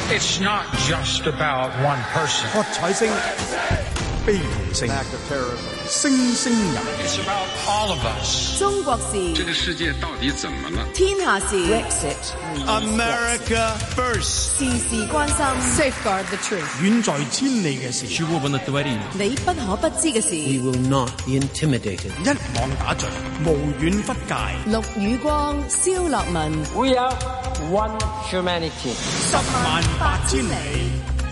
It's not just about one person. 喝彩聲、悲痛聲、聲聲入。 It's about all of us. 中國事， 這個世界到底怎麼了？ 天下事 America first， 事事關心 Safeguard the truth， 遠在千里嘅事， 你不可不知嘅事。 We will not be intimidated。 一網打盡，無遠弗屆。 陸宇光、蕭樂文 We are one humanity。 十萬八千里。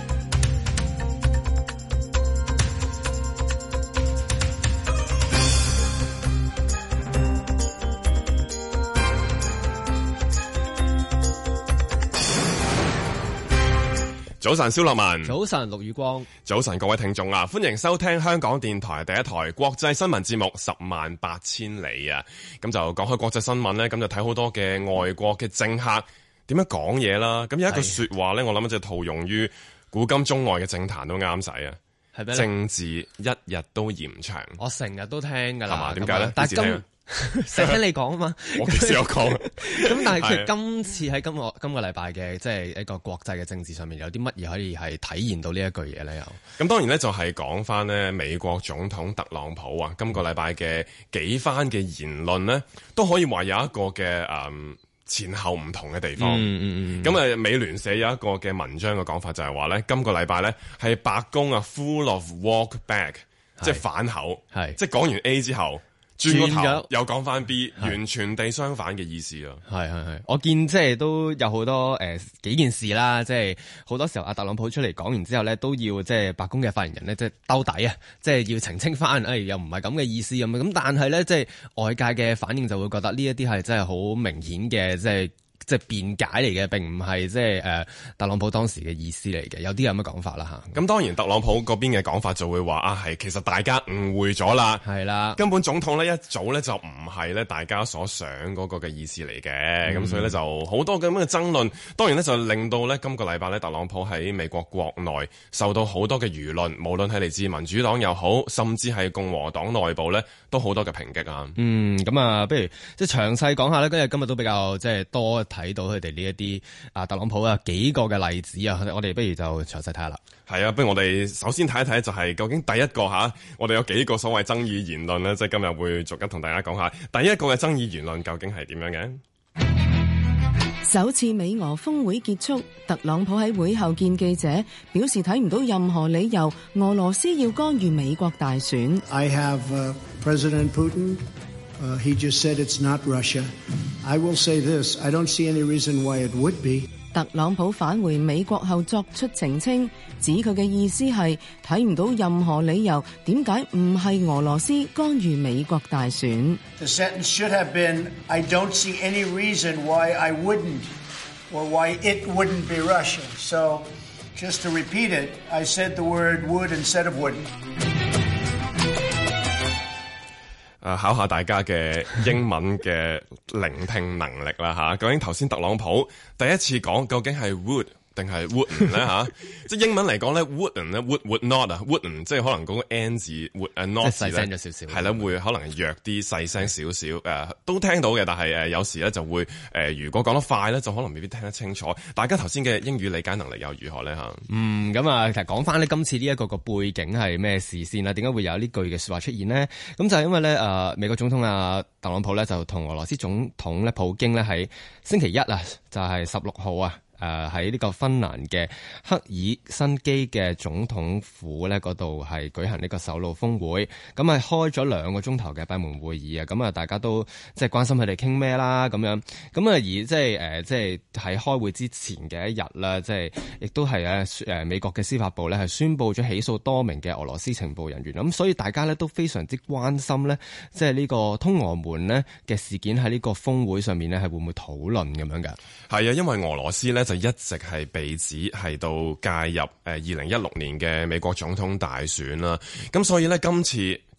早晨，蕭樂文。 早晨，陸宇光。 早晨，各位聽眾啊，歡迎收聽香港電台第一台國際新聞節目《十萬八千里》啊。咁就講開國際新聞呢，咁就睇好多嘅外國嘅政客點樣講嘢啦。咁有一句說話呢，我諗就套用於古今中外嘅政壇都啱使啊。係咩？政治一日都嫌長。我成日都聽噶啦。係嘛？點解呢？ 但係成日聽你講啊嘛， 我幾時有講？ 咁但係其實今次喺今個禮拜嘅即係一個國際嘅政治上面，有啲乜嘢可以係體現到呢一句嘢咧？又咁當然咧，就係講翻呢美國總統特朗普啊，今個禮拜嘅幾番嘅言論呢，都可以話有一個嘅前後唔同嘅地方。咁美聯社有一個嘅文章嘅講法就係話咧，今個禮拜咧係白宮啊 full of walk back， 即係反口，即係講完 A 之後。轉個頭又講翻 B， 完全地相反嘅意思啊！ 係，我見即係都有好多幾件事啦，即係好多時候阿特朗普出嚟講完之後咧，都要即係白宮嘅發言人咧，即係兜底啊，即係要澄清翻，又唔係咁嘅意思咁。咁但係咧，即係外界嘅反應就會覺得呢一啲係真係好明顯嘅，即係辯解嚟嘅，並唔係即係特朗普當時嘅意思嚟嘅，有啲咁嘅講法啦嚇。 咁當然特朗普嗰邊嘅講法就會話係其實大家誤會咗啦，係啦，根本總統咧一早咧就唔係咧大家所想嗰個嘅意思嚟嘅，咁所以咧就好多咁嘅爭論，當然咧就令到咧今個禮拜咧特朗普喺美國國內受到好多嘅輿論，無論係嚟自民主黨又好，甚至係共和黨內部咧都好多嘅抨擊啊。 咁啊，不如即係詳細講下咧，今日都比較即係多睇到佢哋呢一啲特朗普啊幾個嘅例子啊，我哋不如就詳細睇下啦。 係啊，不如我哋首先睇一睇就係究竟第一個我哋有幾個所謂爭議言論呢？即係今日會逐一同大家講下第一個嘅爭議言論究竟係點樣嘅。 首次美俄峰會結束，特朗普喺會後見記者，表示睇唔到任何理由俄羅斯要干預美國大選。 I have President Putin. He just said it's not Russia. I will say this. I don't see any reason why it would be. 特朗普返回美國後作出澄清，指佢嘅意思係睇唔到任何理由點解唔係俄羅斯干預美國大選。 The sentence should have been, I don't see any reason why I wouldn't or why it wouldn't be Russia. So, just to repeat it, I said the word would instead of wouldn't. 考下大家嘅英文嘅聆聽能力啦嚇，究竟頭先特朗普第一次講究竟係 would 定係 wouldn't 咧嚇？即係英文嚟講咧 wouldn't 咧 would not 啊 wouldn't 即係可能嗰個 n 字 would not 字咧細聲咗少少，係啦，會可能弱啲細聲少少都聽到嘅，但係有時咧就會如果講得快咧就可能未必聽得清楚。大家頭先嘅英語理解能力又如何咧嚇？ 咁啊，其實講翻呢今次呢一個個背景係咩事先啦？點解會有呢句嘅説話出現呢？咁就係因為咧美國總統特朗普咧就同俄羅斯總統咧普京咧喺星期一啊，就係16號啊。喺呢個芬蘭嘅赫爾辛基嘅總統府咧嗰度係舉行呢個首腦峰會，咁係開咗2個鐘頭嘅閉門會議啊！咁啊，大家都即係關心佢哋傾咩啦咁樣，咁啊而即係喺開會之前嘅一日啦，即係亦都係美國嘅司法部咧係宣布咗起訴多名嘅俄羅斯情報人員，咁所以大家咧都非常之關心咧，即係呢個通俄門咧嘅事件喺呢個峰會上面咧係會唔會討論咁樣㗎？ 係啊，因為俄羅斯咧就一直係被指係到介入2016年嘅美國總統大選啦，咁所以咧今次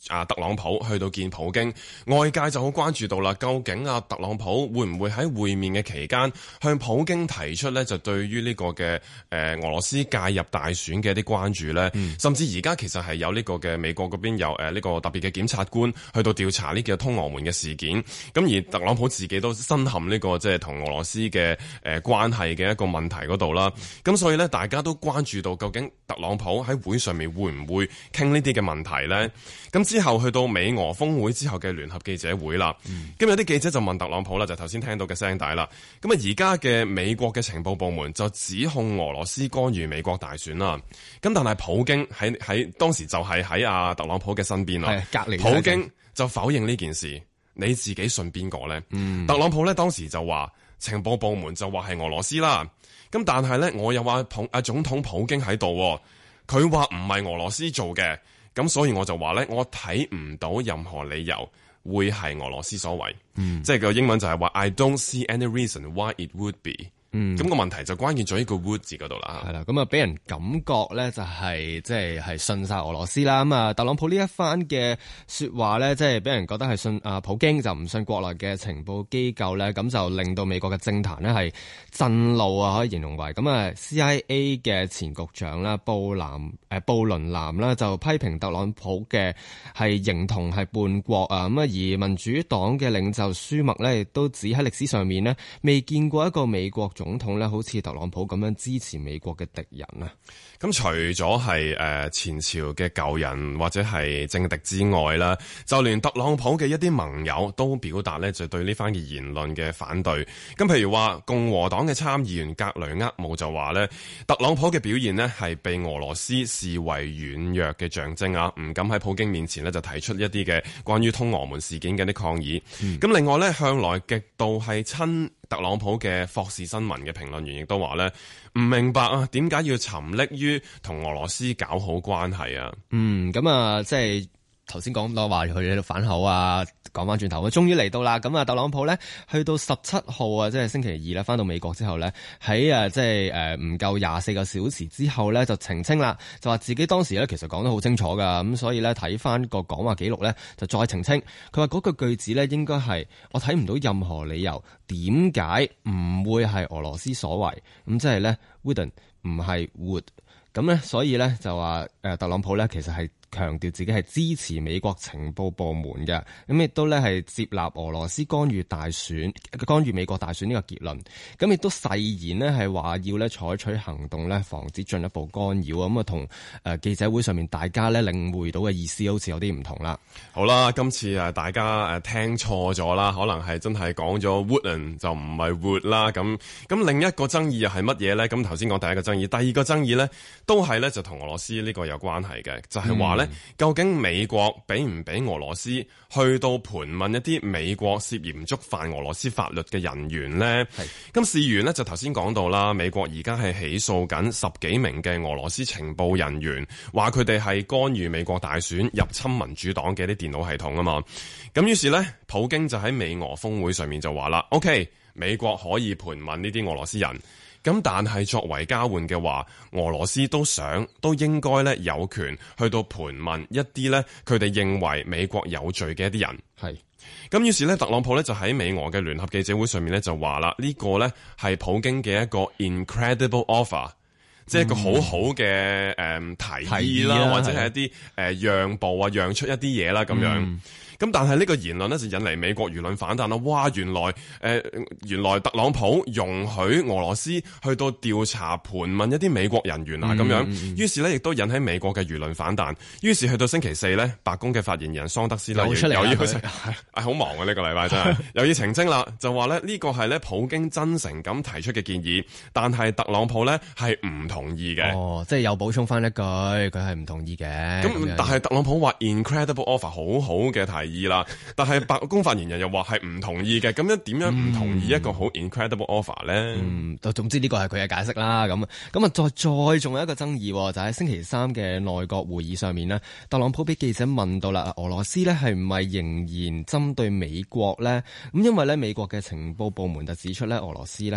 特朗普去到見普京，外界就好關注到啦。究竟特朗普會唔會喺會面嘅期間向普京提出呢？就對於呢個嘅俄羅斯介入大選嘅一啲關注呢？甚至而家其實係有呢個嘅美國嗰邊有呢個特別嘅檢察官去到調查呢個通俄門嘅事件。咁而特朗普自己都身陷呢個即係同俄羅斯嘅關係嘅一個問題嗰度啦。咁所以呢，大家都關注到究竟特朗普喺會上面會唔會傾呢啲嘅問題呢？咁之後去到美俄峰會之後嘅聯合記者會啦，咁有啲記者就問特朗普啦，就頭先聽到嘅聲帶啦。咁而家嘅美國嘅情報部門就指控俄羅斯干預美國大選啦。咁但係普京喺當時就係喺特朗普嘅身邊啦， 隔離。 普京就否認呢件事，你自己信邊個呢？特朗普呢當時就話情報部門就話係俄羅斯啦。咁但係呢，我又話總統普京喺度，佢話唔係俄羅斯做嘅。咁所以我就話咧，我睇唔到任何理由會係俄羅斯所為，即係個英文就係話 I don't see any reason why it would be。咁個問題就關鍵在呢個 would 字嗰度啦。 係啦，咁啊俾人感覺咧就係即係信晒俄羅斯啦。咁啊特朗普呢一番嘅說話咧，即係俾人覺得係信普京，就唔信國內嘅情報機構咧，咁就令到美國嘅政壇咧係震怒啊，可以形容為咁啊 CIA 嘅前局長啦布倫南啦就批評特朗普嘅係形同係叛國啊。咁啊而民主黨嘅領袖舒默咧亦都指喺歷史上面咧未見過一個美國總統咧好似特朗普咁樣支持美國嘅敵人啊。 咁除咗係前朝嘅舊人或者係政敵之外啦，就連特朗普嘅一啲盟友都表達咧就對呢番嘅言論嘅反對。咁譬如話共和黨嘅參議員格雷厄姆就話咧，特朗普嘅表現咧係被俄羅斯視為軟弱嘅象徵啊，唔敢喺普京面前咧就提出一啲嘅關於通俄門事件嘅啲抗議。咁另外咧，向來極度係親特朗普嘅霍士新聞嘅評論員亦都話咧，唔明白啊，點解要沉溺於同俄羅斯搞好關係啊？ 咁啊，即係頭先講到話佢喺度反口啊，講翻轉頭，終於嚟到啦。咁啊，特朗普咧去到17號啊，即係星期二咧，翻到美國之後咧，喺即係唔夠24個小時之後咧，就澄清啦，就話自己當時咧其實講得好清楚噶，咁所以咧睇翻個講話記錄咧，就再澄清。佢話嗰句句子咧應該係我睇唔到任何理由點解唔會係俄羅斯所為，咁即係咧 wouldn't 唔係 would， 咁咧所以咧就話特朗普咧其實係強調自己係支持美國情報部門嘅，咁亦都咧係接納俄羅斯干預美國大選呢個結論，咁亦都誓言呢係話要咧採取行動咧防止進一步干擾，咁啊同記者會上面大家咧領會到嘅意思好似有啲唔同啦。好啦，今次大家聽錯咗啦，可能係真係講咗 wouldn't 就唔係 would 啦。咁另一個爭議又係乜嘢咧？咁頭先講第一個爭議，第二個爭議咧都係咧就同俄羅斯呢個有關係嘅，就係話咧。究竟美國俾唔俾俄羅斯去到盤問一啲美國涉嫌觸犯俄羅斯法律嘅人員呢？咁事緣呢，就頭先講到啦，美國而家係起訴緊10幾名嘅俄羅斯情報人員，話佢哋係干預美國大選、入侵民主黨嘅啲電腦系統啊嘛。咁於是呢，普京就喺美俄峰會上面就話啦 ，OK， 美國可以盤問呢啲俄羅斯人。咁但係作為交換嘅話，俄羅斯都應該咧有權去到盤問一啲咧佢哋認為美國有罪嘅一啲人。係。咁於是咧，特朗普咧就喺美俄嘅聯合記者會上面咧就話啦，呢個咧係普京嘅一個 incredible offer，即係一個好好嘅提議啦，或者係一啲讓步啊，讓出一啲嘢啦咁樣。咁但係呢個言論呢，就引嚟美國輿論反彈啦！哇，原來特朗普容許俄羅斯去到調查盤問一啲美國人員啊咁樣，於是呢，亦都引起美國嘅輿論反彈。於是去到星期四呢，白宮嘅發言人桑德斯啦，又要好忙啊！呢個禮拜真係又要澄清啦，就話呢個係呢普京真誠咁提出嘅建議，但係特朗普呢係唔同意嘅。哦，即係又補充翻一句，佢係唔同意嘅。咁但係特朗普話 incredible offer 好好嘅提議啦，但係白宮發言人又話係唔同意嘅，咁樣點樣唔同意一個好 incredible offer 咧？總之呢個係佢嘅解釋啦。咁啊，再仲有一個爭議，就喺星期三嘅內閣會議上面呢，特朗普俾記者問到啦，俄羅斯呢係唔係仍然針對美國呢？咁因為呢美國嘅情報部門就指出呢，俄羅斯呢係有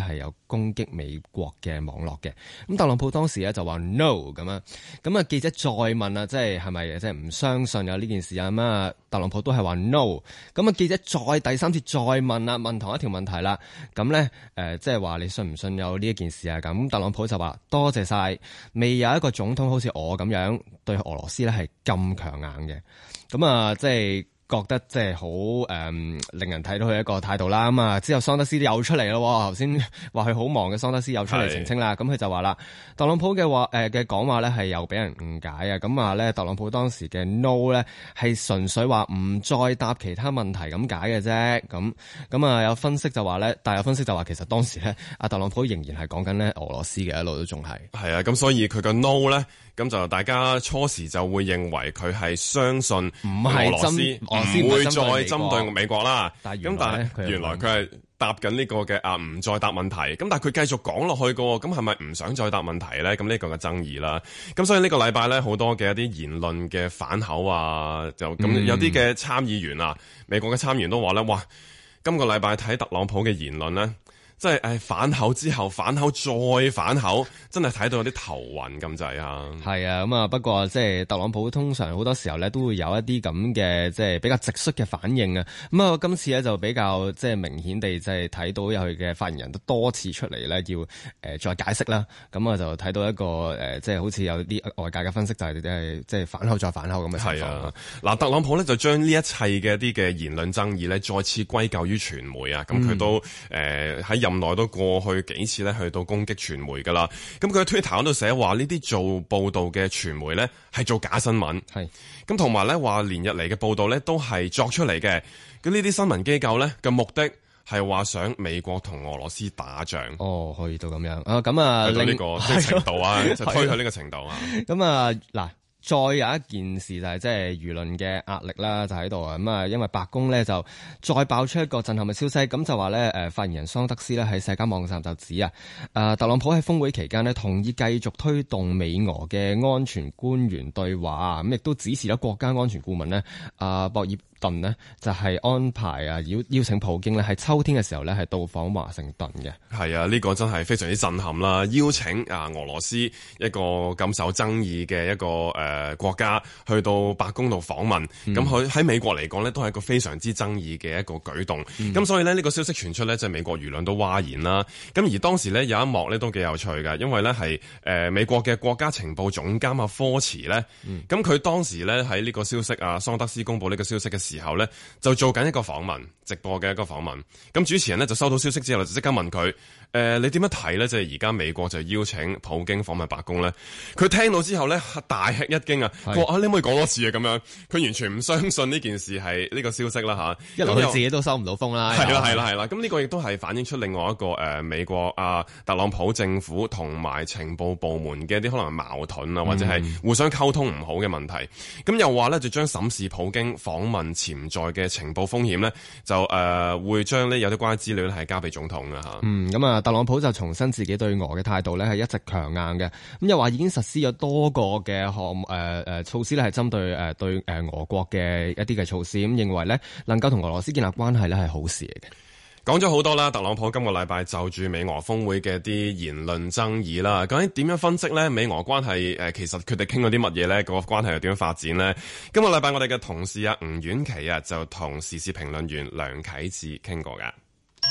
攻擊美國嘅網絡嘅。咁特朗普當時咧就話 no 咁啊，咁啊記者再問啊，即係咪即係唔相信有呢件事啊？咁啊特朗普都係話 no。咁啊記者再第三次再問啦，問同一條問題啦。咁咧即係話你信唔信有呢一件事啊？咁特朗普就話多謝晒，未有一個總統好似我咁樣對俄羅斯咧係咁強硬嘅。咁啊即係覺得即係好令人睇到佢一個態度啦。咁啊之後桑德斯又出嚟咯，頭先話佢好忙嘅桑德斯又出嚟澄清啦。咁佢就話啦，特朗普嘅嘅講話咧係又俾人誤解啊。咁話咧特朗普當時嘅 no 咧係純粹話唔再答其他問題咁解嘅啫。咁啊有分析就話咧，但係有分析就話其實當時咧阿特朗普仍然係講緊咧俄羅斯嘅，一路都仲係啊。咁所以佢個 no 咧，咁就大家初時就會認為佢係相信俄羅斯唔會再針對美國啦。但係原來佢係答緊呢個嘅唔再答問題。咁但係佢繼續講落去嘅，咁係咪唔想再答問題咧？咁呢個嘅爭議啦。咁所以呢個禮拜咧好多嘅一啲言論嘅反口啊，就咁有啲嘅參議員啊，美國嘅參議員都話咧，哇！今個禮拜睇特朗普嘅言論咧，即係反口之後反口再反口，真係睇到有啲頭暈咁滯啊！係啊，咁啊不過即係特朗普通常好多時候咧都會有一啲咁嘅即係比較直率嘅反應啊！咁啊今次咧就比較即係明顯地即係睇到有佢嘅發言人都多次出嚟咧要再解釋啦。咁啊就睇到一個即係好似有啲外界嘅分析就係即係反口再反口咁嘅情況。係啊，嗱特朗普咧就將呢一切嘅一啲嘅言論爭議咧再次歸咎於傳媒啊！咁佢都喺任內都過去幾次咧去到攻擊傳媒噶啦，咁佢喺 Twitter 嗰度寫話呢啲做報道嘅傳媒咧係做假新聞，係咁同埋咧話連日嚟嘅報道咧都係作出嚟嘅，咁呢啲新聞機構咧嘅目的係話想美國同俄羅斯打仗。哦，可以到咁樣啊，咁啊，去到呢個程度啊，就推去呢個程度啊，咁啊嗱。再有一件事就係即係輿論嘅壓力啦，就喺度啊！咁啊，因為白宮咧就再爆出一個震撼嘅消息，咁就話咧發言人桑德斯咧喺社交網站就指啊，特朗普喺峰會期間咧同意繼續推動美俄嘅安全官員對話，咁亦都指示咗國家安全顧問咧博爾頓呢就係安排邀請普京咧喺秋天嘅時候咧係到訪華盛頓嘅。係啊，呢個真係非常之震撼啦！邀請俄羅斯一個咁受爭議嘅一個國家去到白宮度訪問，咁佢喺美國嚟講呢都係一個非常之爭議嘅一個舉動。咁所以呢個消息傳出呢，即係美國輿論都嘩然啦。咁而當時呢有一幕呢都幾有趣㗎，因為呢係美國嘅國家情報總監科茨呢，咁佢當時呢喺呢個消息桑德斯公佈呢個消息嘅時候呢，就做緊一個訪問，直播嘅一個訪問。咁主持人呢就收到消息之後就即刻問佢，你點樣睇呢？即係而家美國就邀請普京訪問白宮呢？佢聽到之後呢，大吃一驚啊！佢話你可唔可以講多次啊？咁樣佢完全唔相信呢件事係呢個消息啦嚇。一來佢自己都收唔到風啦。係啦。咁呢個亦都係反映出另外一個美國特朗普政府同埋情報部門嘅一啲可能矛盾啊，或者係互相溝通唔好嘅問題。咁又話呢，就將審視普京訪問潛在嘅情報風險呢，就會將呢有啲關於資料咧係交俾總統啊嚇。咁啊，特朗普就重申自己對俄嘅態度呢係一直強硬嘅。咁又話已經實施咗多個嘅措施咧，係針對對俄國嘅一啲嘅措施。咁認為呢能夠同俄羅斯建立關係呢係好事嚟嘅。講咗好多啦，特朗普今個禮拜就住美俄峰會嘅啲言論爭議啦，究竟點樣分析呢？美俄關係其實佢哋傾咗啲乜嘢呢？個關係又點樣發展呢？今個禮拜我哋嘅同事吳婉琪就同時事評論員梁啟智傾過㗎。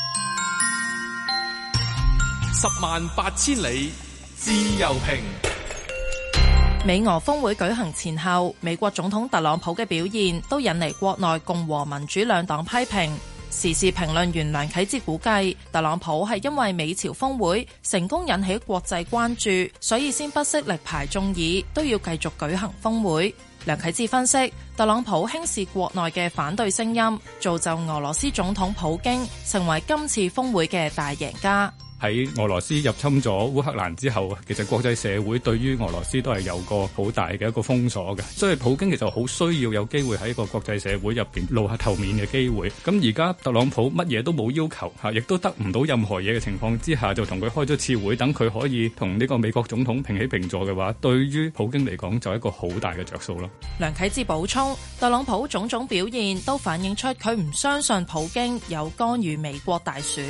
108000里自由評。 美俄峰會舉行前後，美國總統特朗普嘅表現都引嚟國內共和民主兩黨批評。時事評論員梁啟智估計，特朗普係因為美朝峰會成功引起國際關注，所以先不惜力排眾議，都要繼續舉行峰會。梁啟智分析，特朗普輕視國內嘅反對聲音，造就俄羅斯總統普京成為今次峰會嘅大贏家。 喺俄羅斯入侵咗烏克蘭之後，其實國際社會對於俄羅斯都係有個好大嘅一個封鎖嘅，所以普京其實好需要有機會喺個國際社會入邊露下頭面嘅機會。咁而家特朗普乜嘢都冇要求嚇，亦都得唔到任何嘢嘅情況之下，就同佢開咗次會，等佢可以同呢個美國總統平起平坐嘅話，對於普京嚟講就係一個好大嘅着數咯。 梁啟智補充，特朗普種種表現都反映出佢唔相信普京有干預美國大選。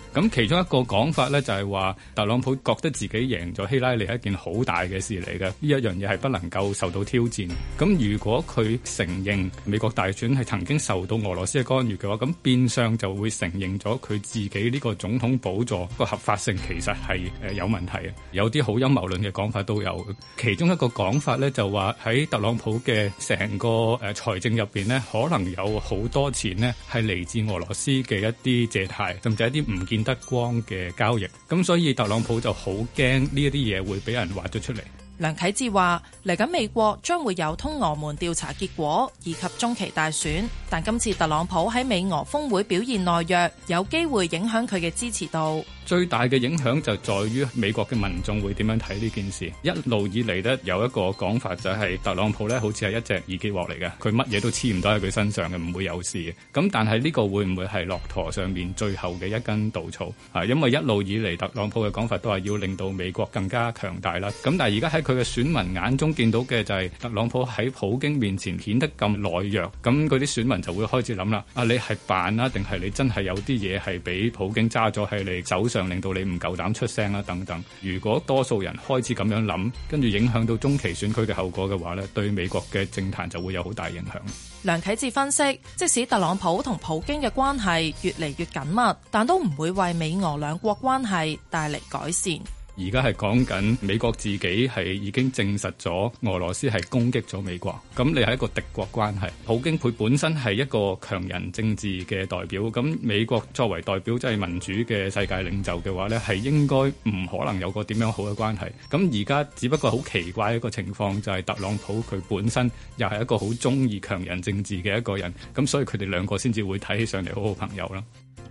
咁其中一個講法咧就係話，特朗普覺得自己贏咗希拉里係一件好大嘅事嚟嘅，呢一樣嘢係不能夠受到挑戰。咁如果佢承認美國大選係曾經受到俄羅斯嘅干預嘅話，咁變相就會承認咗佢自己呢個總統寶座個合法性其實係有問題嘅。有啲好陰謀論嘅講法都有，其中一個講法咧就話喺特朗普嘅成個財政入邊呢，可能有好多錢呢係嚟自俄羅斯嘅一啲借貸，甚至一啲唔見得光嘅交易。咁所以特朗普就好驚呢一啲嘢會俾人挖咗出嚟。 梁啟智話：嚟緊美國將會有通俄門調查結果以及中期大選，但今次特朗普喺美俄峰會表現懦弱，有機會影響佢嘅支持度。 最大嘅影響就在於美國嘅民眾會點樣睇呢件事。一路以嚟呢，有一個講法就係特朗普呢好似係一隻易潔鑊嚟嘅，佢乜嘢都黐唔到喺佢身上嘅，唔會有事嘅。咁但係呢個會唔會係駱駝上面最後嘅一根稻草？因為一路以嚟特朗普嘅講法都係要令到美國更加強大啦。咁但係而家喺佢嘅選民眼中見到嘅就係特朗普喺普京面前顯得咁懦弱，咁嗰啲選民就會開始諗啦：你係扮啊，定係你真係有啲嘢係俾普京揸咗喺你手上，令到你唔夠膽出聲啦等等。如果多數人開始咁樣諗，跟住影響到中期選舉嘅後果嘅話呢，對美國嘅政壇就會有好大影響。 梁啟智分析，即使特朗普同普京嘅關係越嚟越緊密，但都唔會為美俄兩國關係帶嚟改善。 而家係講緊美國自己係已經證實咗俄羅斯係攻擊咗美國，咁你係一個敵國關係。普京佢本身係一個強人政治嘅代表，咁美國作為代表即係民主嘅世界領袖嘅話呢，係應該唔可能有個點樣好嘅關係。咁而家只不過好奇怪一個情況就係特朗普佢本身又係一個好中意強人政治嘅一個人，咁所以佢哋兩個先至會睇起上嚟好好朋友啦。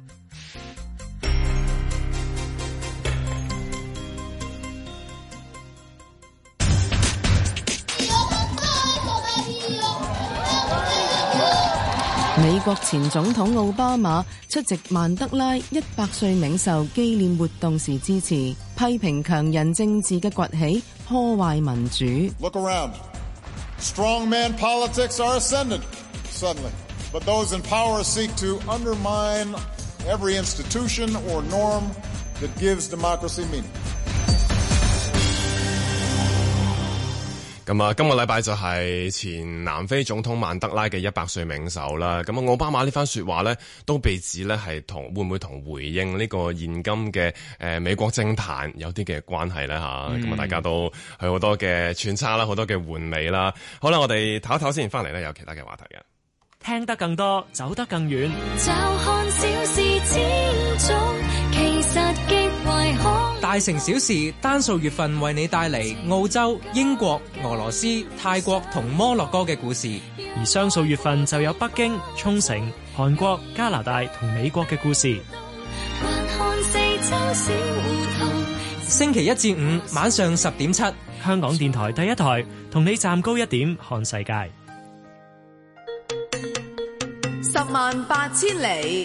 美國前總統奧巴馬出席曼德拉100歲冥壽紀念活動時致辭，批評強人政治嘅崛起破壞民主。 Look around. Strongman politics are ascendant suddenly, but those in power seek to undermine every institution or norm that gives democracy meaning. 咁啊，今個禮拜就係前南非總統曼德拉嘅100歲冥壽啦。咁啊，奧巴馬呢番說話呢，都被指呢係會唔會同回應呢個現今嘅美國政壇有啲嘅關係呢？咁啊，大家都係好多嘅揣測啦，好多嘅玩味啦。好啦，我哋唞一唞先，翻嚟呢有其他嘅話題嘅。 聽得更多，走得更遠。 就看小事千種，其實極為可。 大城小事單數月份為你帶嚟澳洲、英國、俄羅斯、泰國同摩洛哥嘅故事，而雙數月份就有北京、沖繩、韓國、加拿大同美國嘅故事。 還看四周小胡同。 星期一至五晚上10.7，香港電台第一台同你站高一點看世界。 108000里。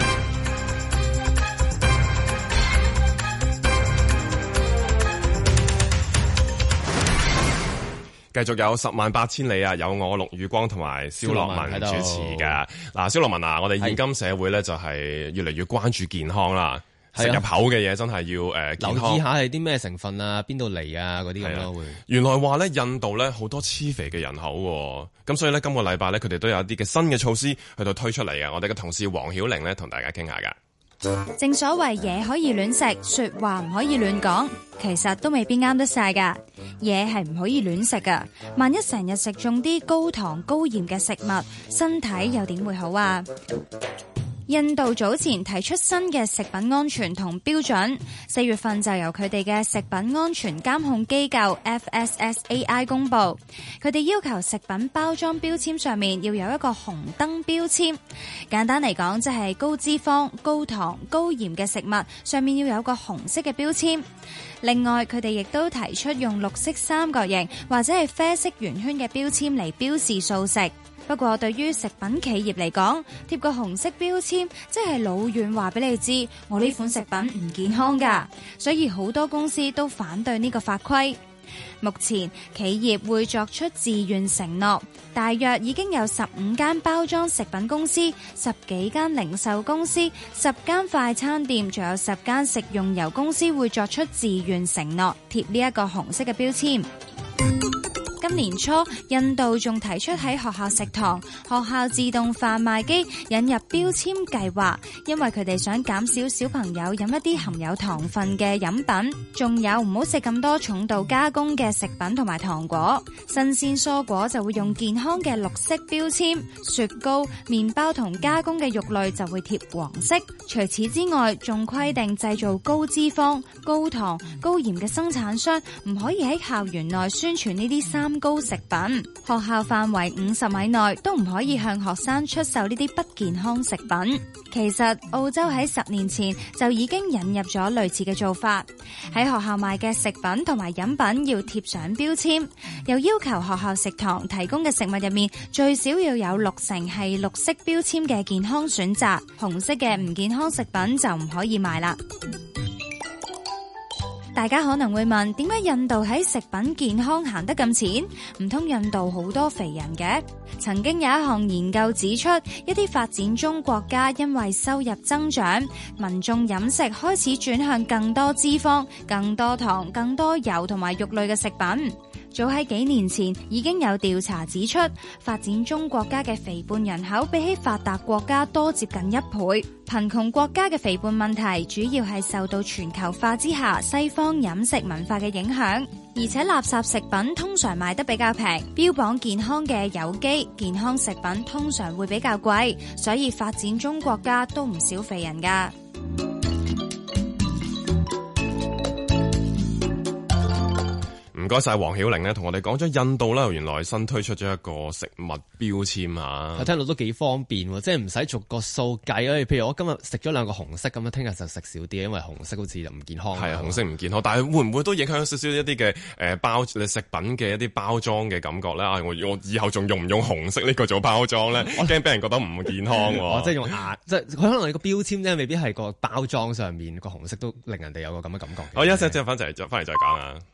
繼續有108000里啊！有我陸宇光同埋蕭樂文主持㗎。嗱，蕭樂文啊，我哋現今社會咧就係越嚟越關注健康啦。食入口嘅嘢真係要健康， 留意下係啲咩成分啊，邊度嚟啊嗰啲咁咯會。 原來話咧，印度咧好多黐肥嘅人口，咁所以咧今個禮拜咧佢哋都有一啲嘅新嘅措施去到推出嚟嘅。我哋嘅同事黃曉玲咧同大家傾下㗎。 正所謂嘢可以亂食，說話唔可以亂講，其實都未必啱得晒㗎。嘢係唔可以亂食㗎，萬一成日食中啲高糖高鹽嘅食物，身體又點會好啊？印度早前提出新嘅食品安全同標準，4月份就由佢哋嘅食品安全監控機構 FSSAI 公布，佢哋要求食品包裝標籤上面要有一個紅燈標籤，簡單嚟講即係高脂肪、高糖、高鹽嘅食物上面要有個紅色嘅標籤。另外，佢哋亦都提出用綠色三角形或者係啡色圓圈嘅標籤嚟標示素食。不過對於食品企業嚟講，貼個紅色標籤即係老遠話俾你知，我呢款食品唔健康㗎，所以好多公司都反對呢個法規。 目前企業會作出自願承諾，大約已經有15間包裝食品公司、10幾間零售公司、10間快餐店，仲有10間食用油公司會作出自願承諾貼呢一個紅色嘅標籤。今年初，印度仲提出喺學校食堂、學校自動販賣機引入標籤計劃，因為佢哋想減少小朋友飲一啲含有糖分嘅飲品，仲有唔好食咁多重度加工嘅食品同埋糖果。新鮮蔬果就會用健康嘅綠色標籤，雪糕、麵包同加工嘅肉類就會貼黃色。除此之外，仲規定製造高脂肪、高糖、高鹽嘅生產商唔可以喺校園內宣傳呢啲三高食品，學校範圍50米內都唔可以向學生出售呢啲不健康食品。其實澳洲喺10年前就已經引入咗類似嘅做法，喺學校賣嘅食品同埋飲品要貼上標籤，又要求學校食堂提供嘅食物入面最少要有60%係綠色標籤嘅健康選擇，紅色嘅唔健康食品就唔可以賣啦。大家可能會問，點解印度喺食品健康行得咁前？唔通印度好多肥人嘅？曾經有一項研究指出，一啲發展中國家因為收入增長，民眾飲食開始轉向更多脂肪、更多糖、更多油同埋肉類嘅食品。早喺幾年前已經有調查指出，發展中國家嘅肥胖人口比起發達國家多接近1倍。貧窮國家嘅肥胖問題主要係受到全球化之下西方飲食文化嘅影響，而且垃圾食品通常賣得比較平，標榜健康嘅有機健康食品通常會比較貴，所以發展中國家都唔少肥人㗎。 唔該晒黃曉玲呢，同我哋講咗印度啦，原來新推出咗一個食物標籤啊！ 我聽到都幾方便喎，即係唔使逐個數計啊。譬如我今日食咗2個紅色咁樣，聽日就食少啲，因為紅色好似就唔健康。係啊，紅色唔健康，但係會唔會都影響少少一啲嘅包食品嘅一啲包裝嘅感覺咧？我以後仲用唔用紅色呢個做包裝咧？我驚俾人覺得唔健康喎。即係用即係佢可能你個標籤咧，未必係個包裝上面個紅色都令人哋有個咁嘅感覺。好，休息之後翻嚟再講啊！